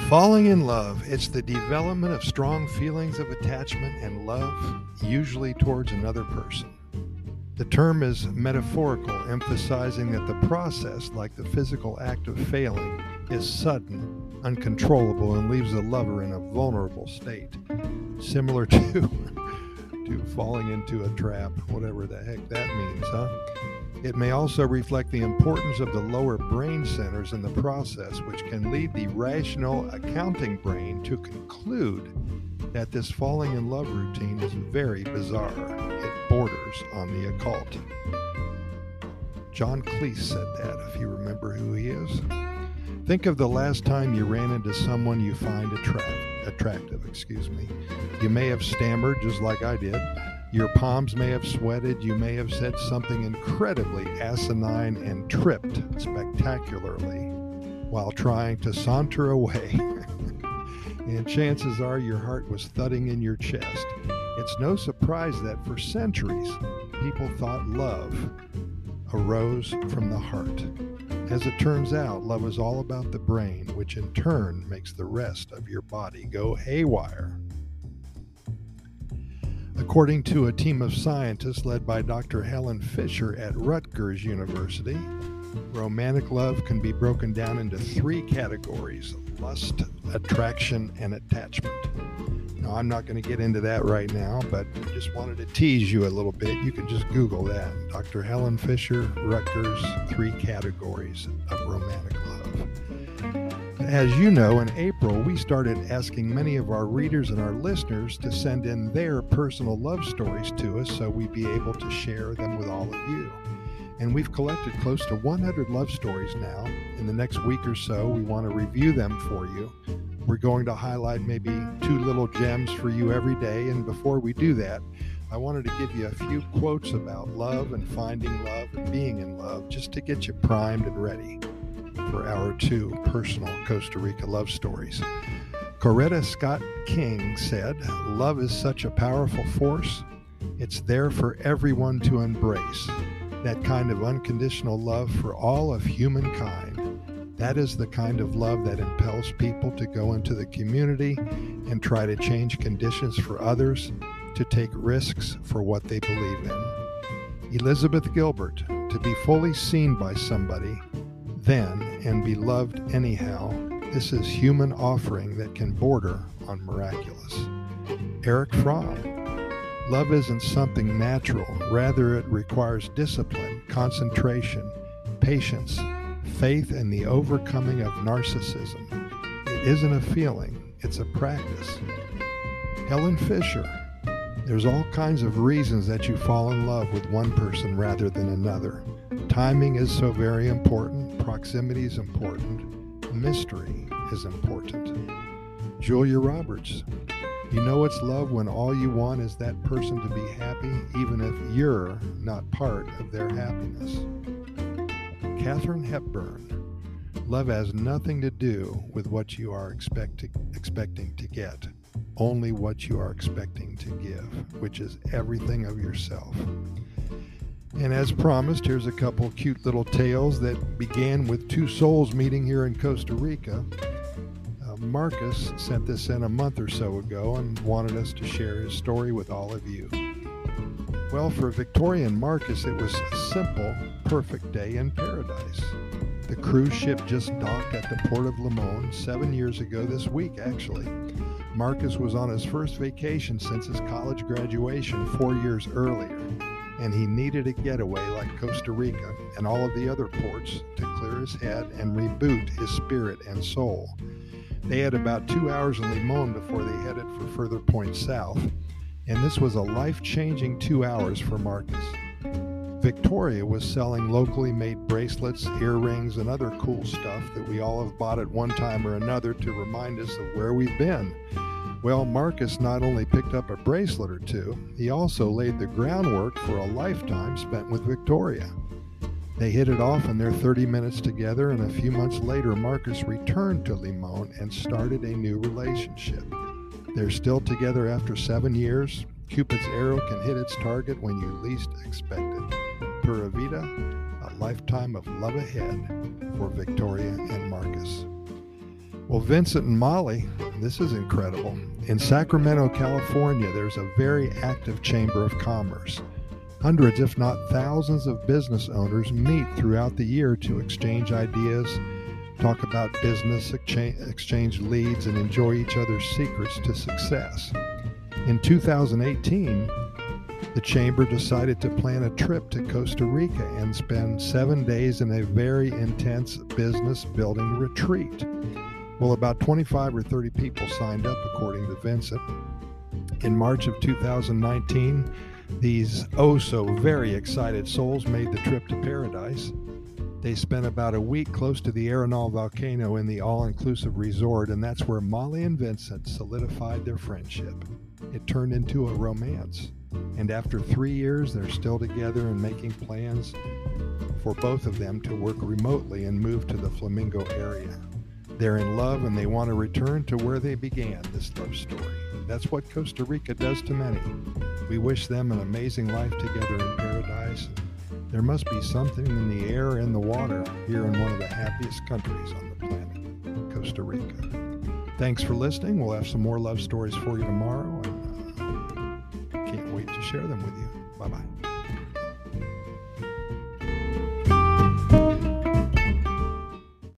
Falling in love, it's the development of strong feelings of attachment and love, usually towards another person. The term is metaphorical, emphasizing that the process, like the physical act of failing, is sudden, uncontrollable, and leaves the lover in a vulnerable state, similar to falling into a trap, whatever the heck that means, huh? It may also reflect the importance of the lower brain centers in the process, which can lead the rational accounting brain to conclude that this falling in love routine is very bizarre. It borders on the occult. John Cleese said that, if you remember who he is. Think of the last time you ran into someone you find attractive. You may have stammered just like I did. Your palms may have sweated. You may have said something incredibly asinine and tripped spectacularly while trying to saunter away. And chances are your heart was thudding in your chest. It's no surprise that for centuries, people thought love arose from the heart. As it turns out, love is all about the brain, which in turn makes the rest of your body go haywire. According to a team of scientists led by Dr. Helen Fisher at Rutgers University, romantic love can be broken down into three categories: lust, attraction, and attachment. Now, I'm not going to get into that right now, but I just wanted to tease you a little bit. You can just Google that. Dr. Helen Fisher, Rutgers, three categories of romantic love. As you know, in April, we started asking many of our readers and our listeners to send in their personal love stories to us so we'd be able to share them with all of you. And we've collected close to 100 love stories now. In the next week or so, we want to review them for you. We're going to highlight maybe 2 little gems for you every day. And before we do that, I wanted to give you a few quotes about love and finding love and being in love, just to get you primed and ready for our 2 personal Costa Rica love stories. Coretta Scott King said, "Love is such a powerful force. It's there for everyone to embrace. That kind of unconditional love for all of humankind. That is the kind of love that impels people to go into the community and try to change conditions for others, to take risks for what they believe in." Elizabeth Gilbert, "To be fully seen by somebody, then, and be loved anyhow, this is human offering that can border on miraculous." Eric Fromm, "Love isn't something natural. Rather, it requires discipline, concentration, patience, faith, and the overcoming of narcissism. It isn't a feeling, it's a practice." Helen Fisher, "There's all kinds of reasons that you fall in love with one person rather than another. Timing is so very important. Proximity is important. Mystery is important." Julia Roberts, "You know it's love when all you want is that person to be happy, even if you're not part of their happiness." Katharine Hepburn, "Love has nothing to do with what you are expecting to get, only what you are expecting to give, which is everything of yourself." And as promised, here's a couple cute little tales that began with 2 souls meeting here in Costa Rica. Marcus sent this in a month or so ago and wanted us to share his story with all of you. Well, for Victoria and Marcus, it was a simple, perfect day in paradise. The cruise ship just docked at the port of Limon 7 years ago this week, actually. Marcus was on his first vacation since his college graduation 4 years earlier, and he needed a getaway like Costa Rica and all of the other ports to clear his head and reboot his spirit and soul. They had about 2 hours in Limon before they headed for further points south, and this was a life-changing 2 hours for Marcus. Victoria was selling locally made bracelets, earrings, and other cool stuff that we all have bought at one time or another to remind us of where we've been. Well, Marcus not only picked up a bracelet or 2, he also laid the groundwork for a lifetime spent with Victoria. They hit it off in their 30 minutes together, and a few months later, Marcus returned to Limon and started a new relationship. They're still together after 7 years. Cupid's arrow can hit its target when you least expect it. Pura Vida, a lifetime of love ahead for Victoria and Marcus. Well, Vincent and Molly, this is incredible. In Sacramento, California, there's a very active Chamber of Commerce. Hundreds, if not thousands, of business owners meet throughout the year to exchange ideas, talk about business, exchange leads, and enjoy each other's secrets to success. In 2018, the Chamber decided to plan a trip to Costa Rica and spend 7 days in a very intense business building retreat. Well, about 25 or 30 people signed up, according to Vincent. In March of 2019, these very excited souls made the trip to paradise. They spent about a week close to the Arenal volcano in the all-inclusive resort, and that's where Molly and Vincent solidified their friendship. It turned into a romance, and after 3 years, they're still together and making plans for both of them to work remotely and move to the Flamingo area. They're in love and they want to return to where they began this love story. That's what Costa Rica does to many. We wish them an amazing life together in paradise. There must be something in the air and the water here in one of the happiest countries on the planet, Costa Rica. Thanks for listening. We'll have some more love stories for you tomorrow, and can't wait to share them with you. Bye-bye.